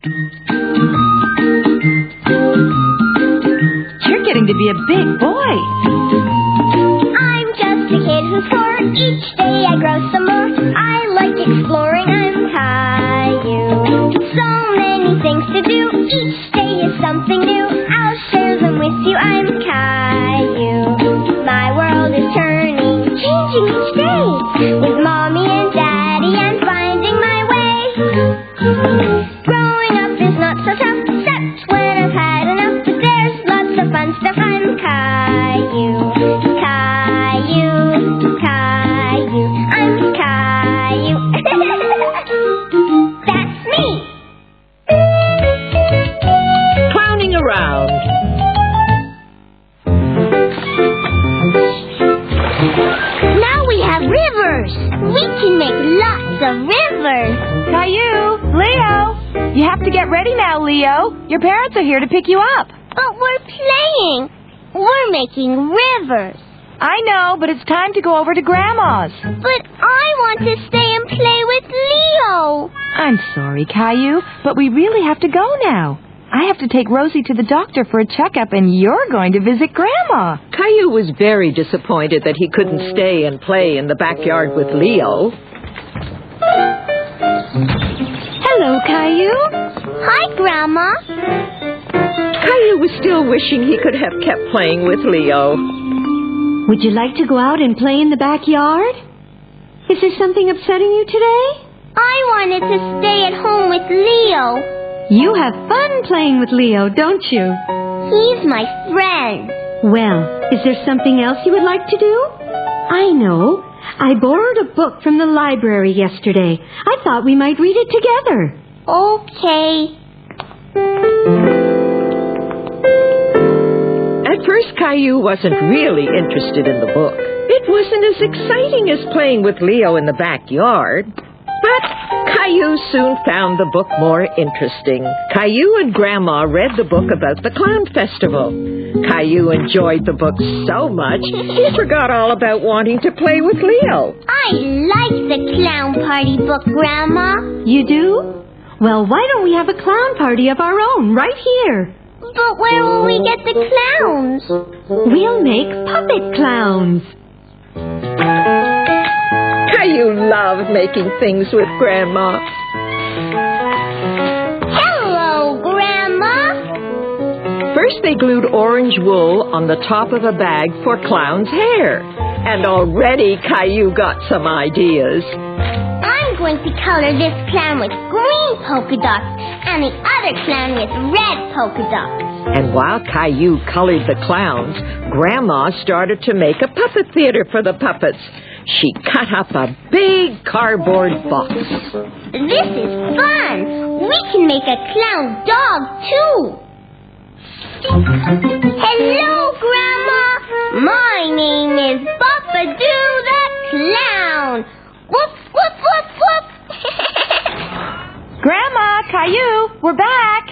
You're getting to be a big boy. I'm just a kid who's 4. Each day I grow some more. I like exploring. I'm Caillou. So many things to do. Each day is something new. I'll share them with you. I'm Caillou. My world is turning, changing each day. With Mommy and Daddy, I'm finding my way. Growing up is not so tough, except when I've had enough. But there's lots of fun stuff. I'm Caillou. Caillou, Caillou, I'm Caillou. That's me. Clowning around. Now we have rivers. We can make lots of rivers. Caillou, Leo. You have to get ready now, Leo. Your parents are here to pick you up. But we're playing. We're making rivers. I know, but it's time to go over to Grandma's. But I want to stay and play with Leo. I'm sorry, Caillou, but we really have to go now. I have to take Rosie to the doctor for a checkup, and you're going to visit Grandma. Caillou was very disappointed that he couldn't stay and play in the backyard with Leo. Hello, Caillou. Hi, Grandma. Caillou was still wishing he could have kept playing with Leo. Would you like to go out and play in the backyard? Is there something upsetting you today? I wanted to stay at home with Leo. You have fun playing with Leo, don't you? He's my friend. Well, is there something else you would like to do? I know. I borrowed a book from the library yesterday. I thought we might read it together. Okay. At first, Caillou wasn't really interested in the book. It wasn't as exciting as playing with Leo in the backyard. But Caillou soon found the book more interesting. Caillou and Grandma read the book about the Clown Festival. Caillou enjoyed the book so much, he forgot all about wanting to play with Leo. I like the clown party book, Grandma. You do? Well, why don't we have a clown party of our own right here? But where will we get the clowns? We'll make puppet clowns. Caillou loved making things with Grandma. Hello, Grandma. First, they glued orange wool on the top of a bag for Clown's hair. And already Caillou got some ideas. I'm going to color this clown with green polka dots and the other clown with red polka dots. And while Caillou colored the clowns, Grandma started to make a puppet theater for the puppets. She cut up a big cardboard box. This is fun. We can make a clown dog, too. Hello, Grandma. My name is Bubba-Doo the Clown. Whoop, whoop, whoop, whoop. Grandma, Caillou, we're back.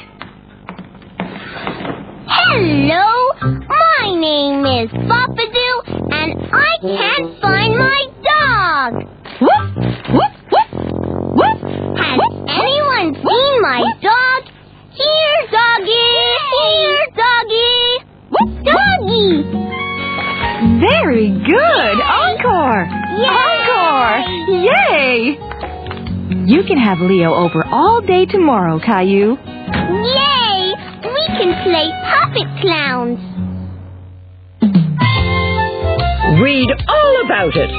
Hello. My name is Bubba-Doo, and I can't find my dog. Woof, woof, woof, woof. Has anyone seen my dog? Here, doggy. Here, doggy. Woof, Doggy. Very good. Encore. Yay! Encore. Yay. You can have Leo over all day tomorrow, Caillou. Yay! We can play puppet clowns. Read all about it.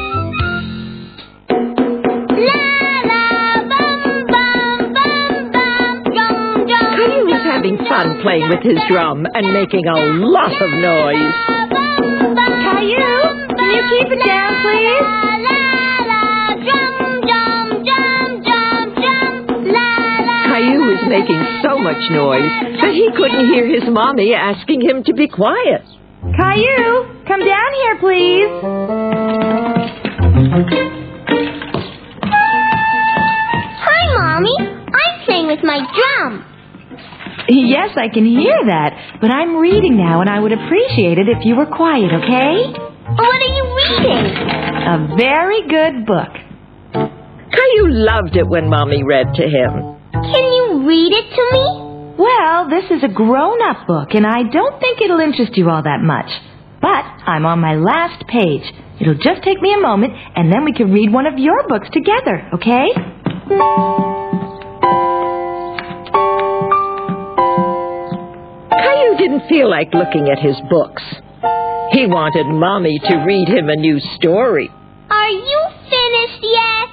La la bum bum bum bum dum dum. Caillou was having fun playing with his drum and making a lot of noise. Caillou, can you keep it down, please? Caillou was making so much noise that he couldn't hear his mommy asking him to be quiet. Caillou, come down here, please. Hi, Mommy. I'm playing with my drum. Yes, I can hear that, but I'm reading now, and I would appreciate it if you were quiet, okay? What are you reading? A very good book. Caillou loved it when Mommy read to him. Can you read it to me? Well, this is a grown-up book, and I don't think it'll interest you all that much. But I'm on my last page. It'll just take me a moment, and then we can read one of your books together, okay? Caillou didn't feel like looking at his books. He wanted Mommy to read him a new story. Are you finished yet?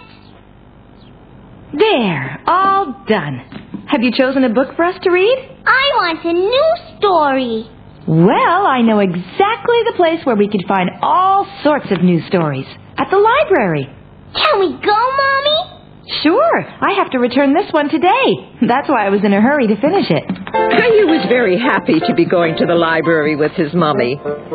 There, all done. Have you chosen a book for us to read? I want a new story. Well, I know exactly the place where we could find all sorts of new stories. At the library. Can we go, Mommy? Sure. I have to return this one today. That's why I was in a hurry to finish it. Caillou was very happy to be going to the library with his Mommy.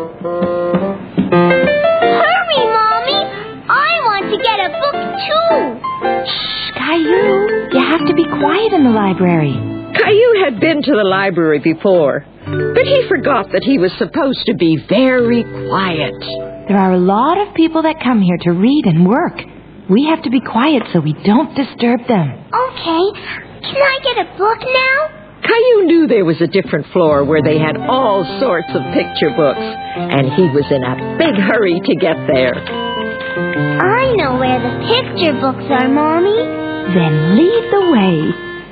Hurry, Mommy! I want to get a book, too. Shh, Caillou. You have to be quiet in the library. Caillou had been to the library before, but he forgot that he was supposed to be very quiet. There are a lot of people that come here to read and work. We have to be quiet so we don't disturb them. Okay. Can I get a book now? Caillou knew there was a different floor where they had all sorts of picture books, and he was in a big hurry to get there. I know where the picture books are, Mommy. Then lead the way.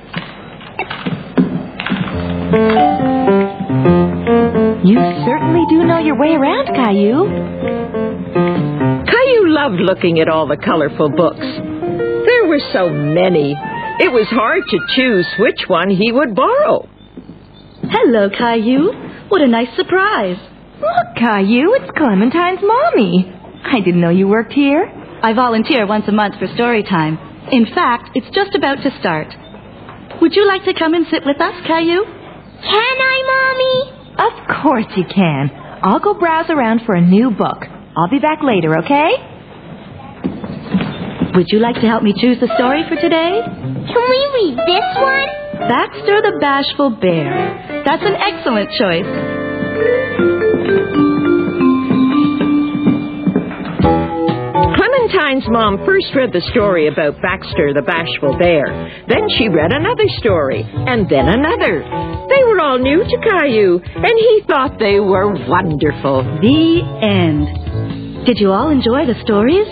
You certainly do know your way around, Caillou. Caillou loved looking at all the colorful books. There were so many. It was hard to choose which one he would borrow. Hello, Caillou. What a nice surprise. Look, Caillou, it's Clementine's Mommy. I didn't know you worked here. I volunteer once a month for story time. In fact, it's just about to start. Would you like to come and sit with us, Caillou? Can I, Mommy? Of course you can. I'll go browse around for a new book. I'll be back later, okay? Would you like to help me choose the story for today? Can we read this one? Baxter the Bashful Bear. That's an excellent choice. Clementine's mom first read the story about Baxter the Bashful Bear. Then she read another story, and then another. They were all new to Caillou, and he thought they were wonderful. The end. Did you all enjoy the stories?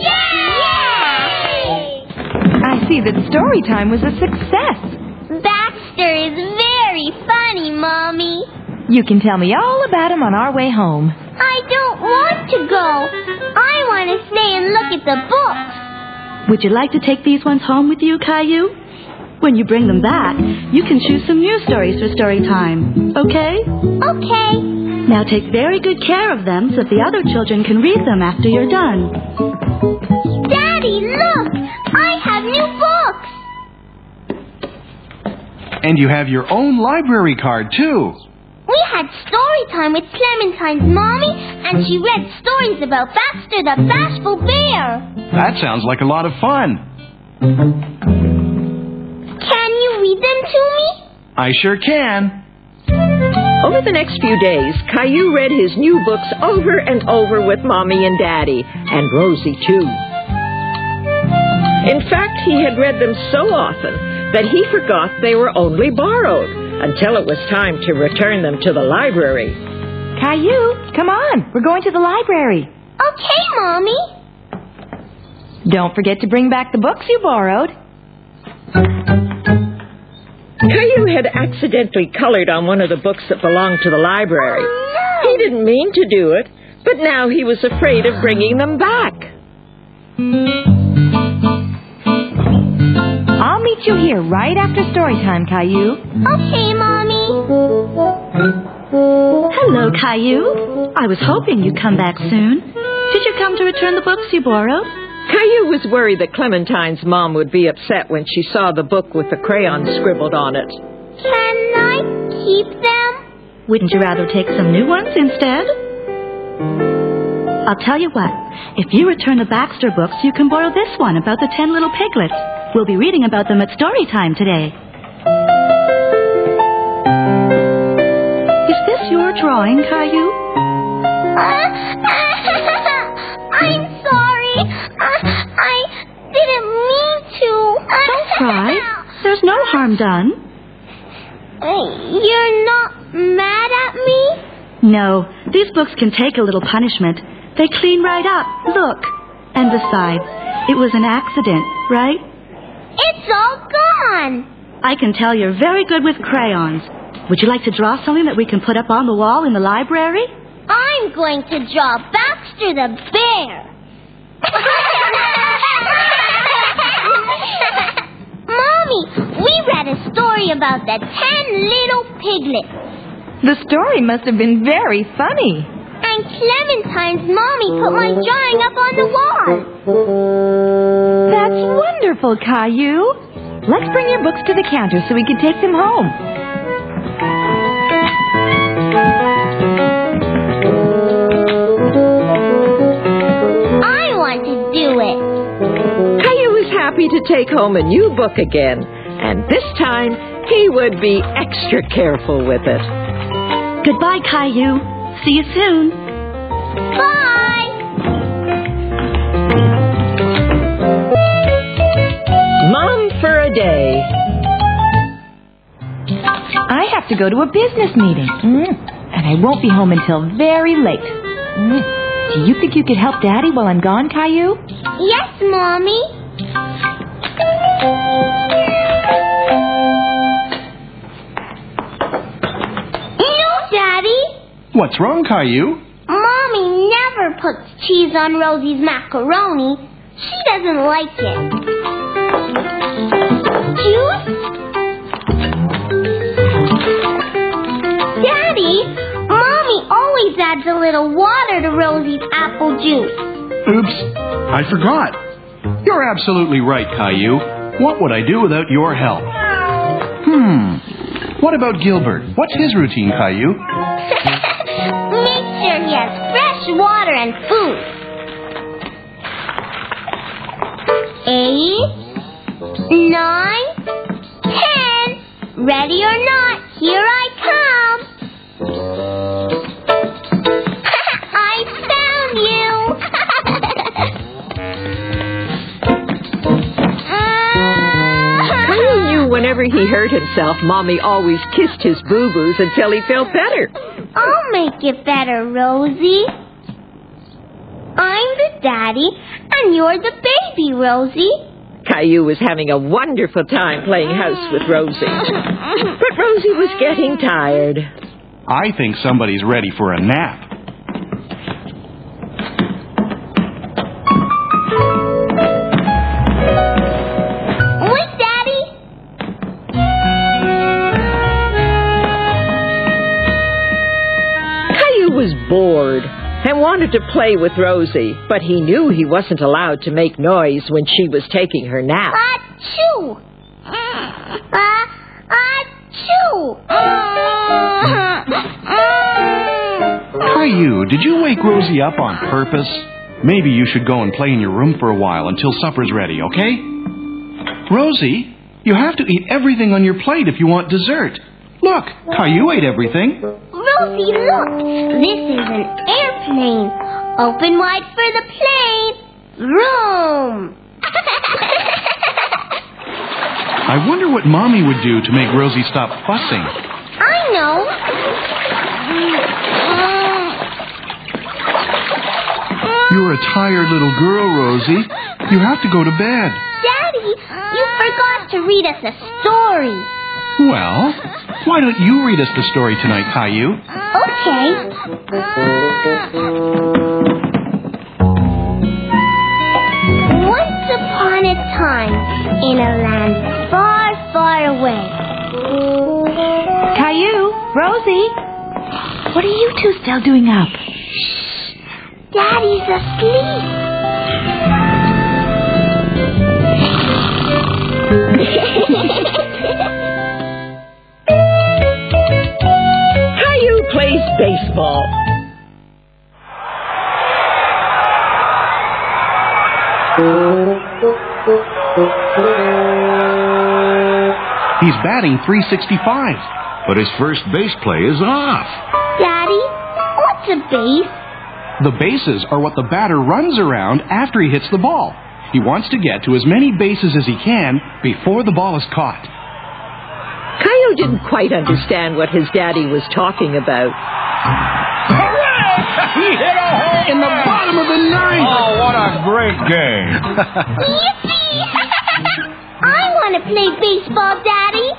Yay! I see that story time was a success. Baxter is very funny, Mommy. You can tell me all about him on our way home. I don't want to go. I want to stay and look at the books. Would you like to take these ones home with you, Caillou? When you bring them back, you can choose some new stories for story time. Okay? Okay. Now take very good care of them so the other children can read them after you're done. Daddy, look! I have new books. And you have your own library card, too. We had story time with Clementine's Mommy, and she read stories about Baxter the Bashful Bear. That sounds like a lot of fun. Can you read them to me? I sure can. Over the next few days, Caillou read his new books over and over with Mommy and Daddy, and Rosie, too. In fact, he had read them so often that he forgot they were only borrowed until it was time to return them to the library. Caillou, come on. We're going to the library. Okay, Mommy. Don't forget to bring back the books you borrowed. Caillou had accidentally colored on one of the books that belonged to the library. Oh, no. He didn't mean to do it, but now he was afraid of bringing them back. I'll meet you here right after story time, Caillou. Okay, Mommy. Hello, Caillou. I was hoping you'd come back soon. Did you come to return the books you borrowed? Caillou was worried that Clementine's mom would be upset when she saw the book with the crayon scribbled on it. Can I keep them? Wouldn't you rather take some new ones instead? I'll tell you what. If you return the Baxter books, you can borrow this one about the 10 little piglets. We'll be reading about them at story time today. Is this your drawing, Caillou? I'm sorry. I didn't mean to. Don't cry. There's no harm done. You're not mad at me? No, these books can take a little punishment. They clean right up. Look. And besides, it was an accident, right? It's all gone. I can tell you're very good with crayons. Would you like to draw something that we can put up on the wall in the library? I'm going to draw Baxter the bear. Mommy, we read a story about the 10 little piglets. The story must have been very funny. And Clementine's mommy put my drawing up on the wall. That's wonderful, Caillou. Let's bring your books to the counter so we can take them home. I want to do it. Caillou was happy to take home a new book again, and this time he would be extra careful with it. Goodbye, Caillou. See you soon. Bye. Mom for a day. I have to go to a business meeting. And I won't be home until very late. Do you think you could help Daddy while I'm gone, Caillou? Yes, Mommy. No, Daddy. What's wrong, Caillou? Mommy never puts cheese on Rosie's macaroni. She doesn't like it. Juice? Daddy, Mommy always adds a little water to Rosie's apple juice. Oops, I forgot. You're absolutely right, Caillou. What would I do without your help? What about Gilbert? What's his routine, Caillou? Make sure he has fresh water and food. 8, 9, 10. Ready or not, here I come. I found you. Caillou knew whenever he hurt himself, Mommy always kissed his boo-boos until he felt better. I'll make it better, Rosie. I'm the daddy, and you're the baby, Rosie. Caillou was having a wonderful time playing house with Rosie. But Rosie was getting tired. I think somebody's ready for a nap. Wait, Daddy. Caillou was bored and wanted to play with Rosie, but he knew he wasn't allowed to make noise when she was taking her nap. Achoo! Achoo! Caillou, did you wake Rosie up on purpose? Maybe you should go and play in your room for a while until supper's ready, okay? Rosie, you have to eat everything on your plate if you want dessert. Look, Caillou ate everything. Rosie, look! This is an airplane. Open wide for the plane. Vroom! I wonder what Mommy would do to make Rosie stop fussing. I know. You're a tired little girl, Rosie. You have to go to bed. Daddy, you forgot to read us a story. Well, why don't you read us the story tonight, Caillou? Okay. Once upon a time, in a land far, far away. Caillou, Rosie, what are you two still doing up? Daddy's asleep. Caillou plays baseball. He's batting .365. But his first base play is off. Daddy, what's a base? The bases are what the batter runs around after he hits the ball. He wants to get to as many bases as he can before the ball is caught. Caillou Caillou didn't quite understand what his daddy was talking about. Hooray! He hit a hole In the bottom of the ninth! Oh, what a great game. Yippee! I want to play baseball, Daddy.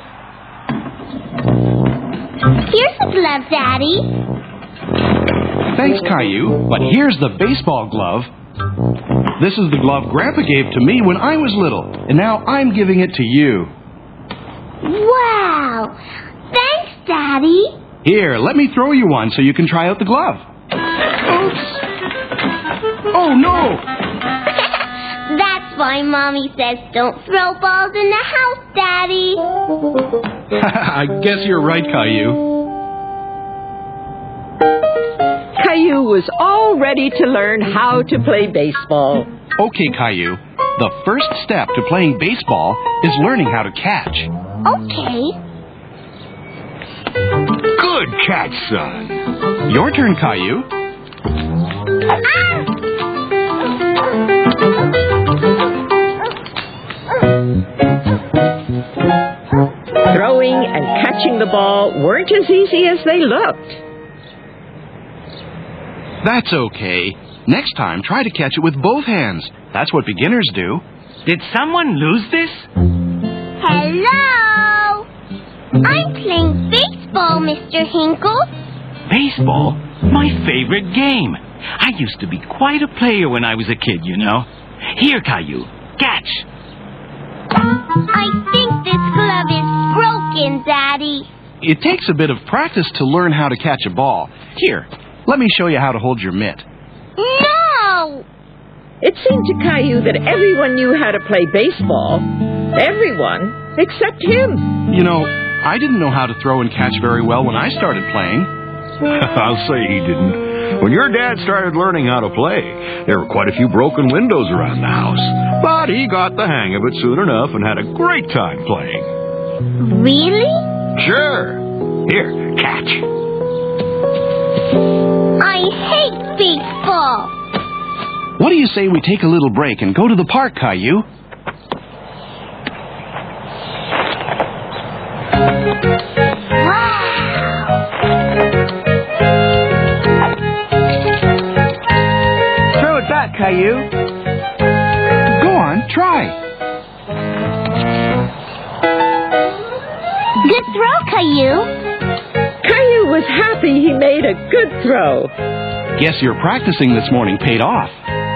Here's a glove, Daddy. Thanks, Caillou, but here's the baseball glove. This is the glove Grandpa gave to me when I was little, and now I'm giving it to you. Wow! Thanks, Daddy. Here, let me throw you one so you can try out the glove. Oops. Oh, no! That's why Mommy says don't throw balls in the house, Daddy. I guess you're right, Caillou. Caillou was all ready to learn how to play baseball. Okay, Caillou. The first step to playing baseball is learning how to catch. Okay. Good catch, son. Your turn, Caillou. Throwing and catching the ball weren't as easy as they looked. That's okay. Next time, try to catch it with both hands. That's what beginners do. Did someone lose this? Hello. I'm playing baseball, Mr. Hinkle. Baseball? My favorite game. I used to be quite a player when I was a kid, you know. Here, Caillou. Catch. I think this glove is broken, Daddy. It takes a bit of practice to learn how to catch a ball. Here, let me show you how to hold your mitt. No! It seemed to Caillou that everyone knew how to play baseball. Everyone, except him. You know, I didn't know how to throw and catch very well when I started playing. I'll say he didn't. When your dad started learning how to play, there were quite a few broken windows around the house. But he got the hang of it soon enough and had a great time playing. Really? Sure. Here, catch. I hate baseball. What do you say we take a little break and go to the park, Caillou? Throw it back, Caillou. Go on, try. Good throw, Caillou. Caillou was happy he made a good throw. Guess your practicing this morning paid off.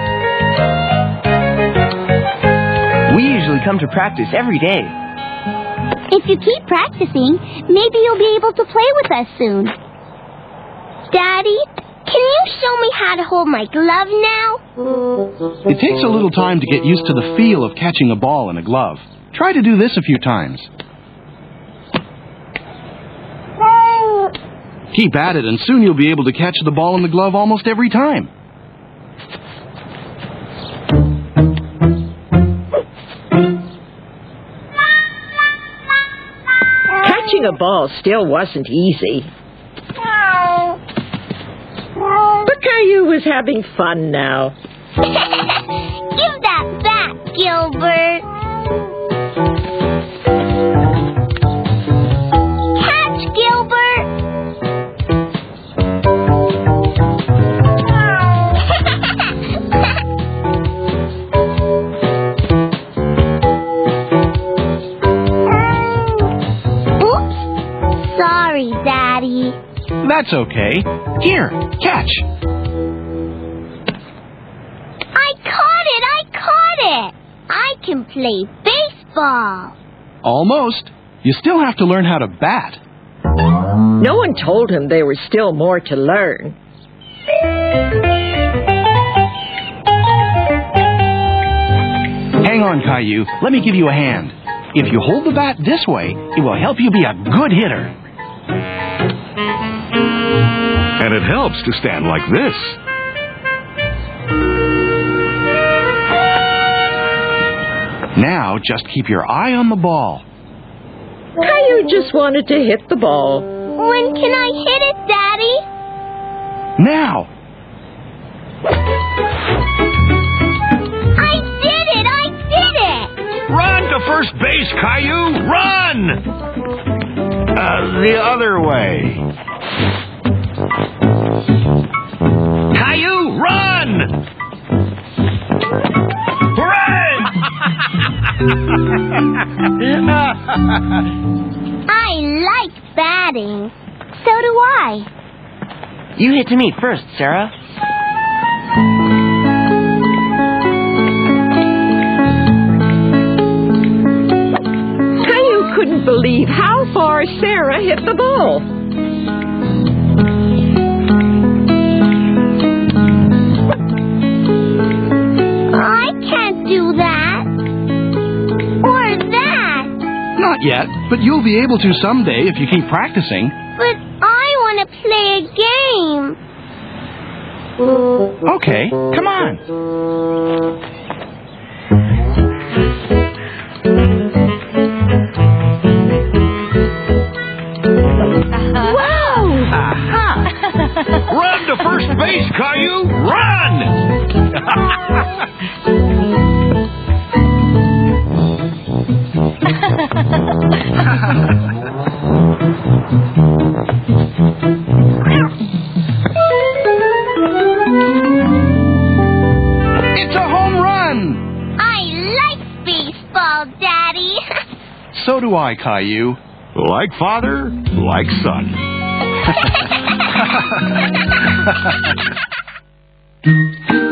We usually come to practice every day. If you keep practicing, maybe you'll be able to play with us soon. Daddy, can you show me how to hold my glove now? It takes a little time to get used to the feel of catching a ball in a glove. Try to do this a few times. Keep at it, and soon you'll be able to catch the ball in the glove almost every time. Catching a ball still wasn't easy. But Caillou was having fun now. Give that back, Gilbert. Catch, Gilbert. Oops. Sorry, Daddy. That's okay. Here, catch. I caught it! I can play baseball. Almost. You still have to learn how to bat. No one told him there was still more to learn. Hang on, Caillou. Let me give you a hand. If you hold the bat this way, it will help you be a good hitter. And it helps to stand like this. Now, just keep your eye on the ball. Caillou just wanted to hit the ball. When can I hit it, Daddy? Now! I did it! Run to first base, Caillou! Run! The other way. Caillou, run! I like batting. So do I. You hit to me first, Sarah. Caillou couldn't believe how far Sarah hit the ball. I can't do that. Or that. Not yet, but you'll be able to someday if you keep practicing. But I want to play a game. Okay, come on. Run to first base, Caillou! It's a home run! I like baseball, Daddy. So do I, Caillou. Like father, like son.